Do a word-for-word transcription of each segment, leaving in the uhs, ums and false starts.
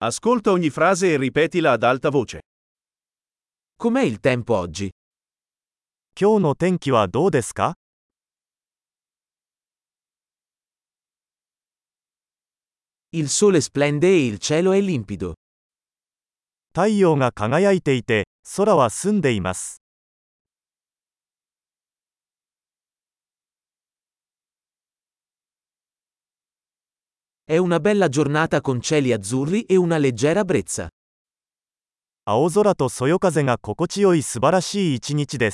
Ascolta ogni frase e ripetila ad alta voce. Com'è il tempo oggi? 今日の天気はどうですか？ Il sole splende e il cielo è limpido. 太陽が輝いていて、空は澄んでいます。 È una bella giornata con cieli azzurri e una leggera brezza. 青空とそよ風が心地よい素晴らしい一日です。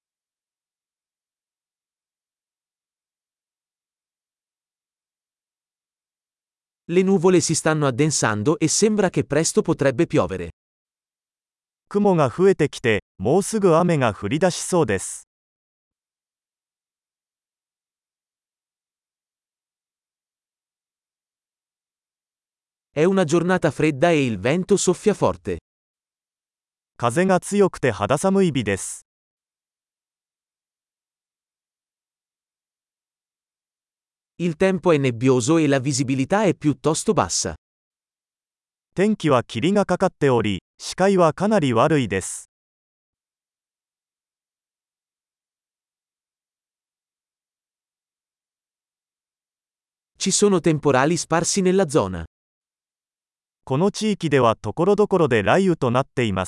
Le nuvole si stanno addensando e sembra che presto potrebbe piovere. 雲が増えてきて、もうすぐ雨が降り出しそうです。 È una giornata fredda e il vento soffia forte. 風が強くて肌寒い日です。 Il tempo è nebbioso e la visibilità è piuttosto bassa. 天気は霧がかかっており、視界はかなり悪いです。 Ci sono temporali sparsi nella zona. この地域ではところどころで雷雨となっています。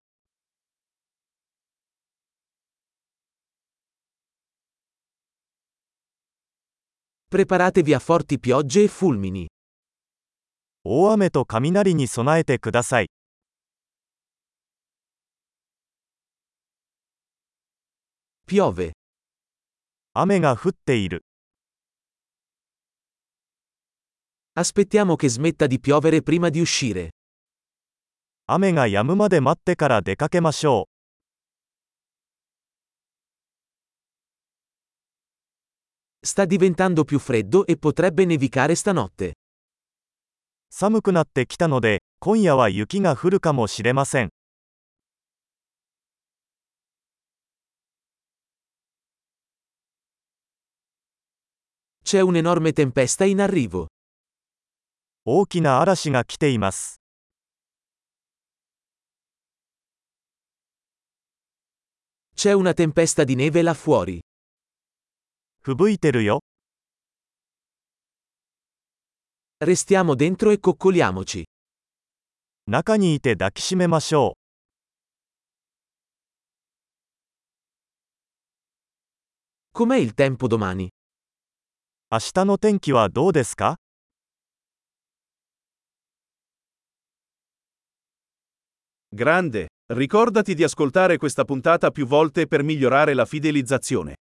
Preparatevi a forti piogge e fulmini. 大雨と雷に備えてください。 Piove. 雨が降っている。 Aspettiamo che smetta di piovere prima di uscire. 雨が止むまで待ってから出かけましょう。 Sta diventando più freddo e potrebbe nevicare stanotte. 寒くなってきたので、今夜は雪が降るかもしれません。 C'è un'enorme tempesta in arrivo. 大きな嵐が来ています。 C'è una tempesta di neve là fuori. 吹雪いてるよ。 Restiamo dentro e coccoliamoci. 中にいて抱きしめましょう。 Com'è il tempo domani? 明日の天気はどうですか？ Grande! Ricordati di ascoltare questa puntata più volte per migliorare la fidelizzazione.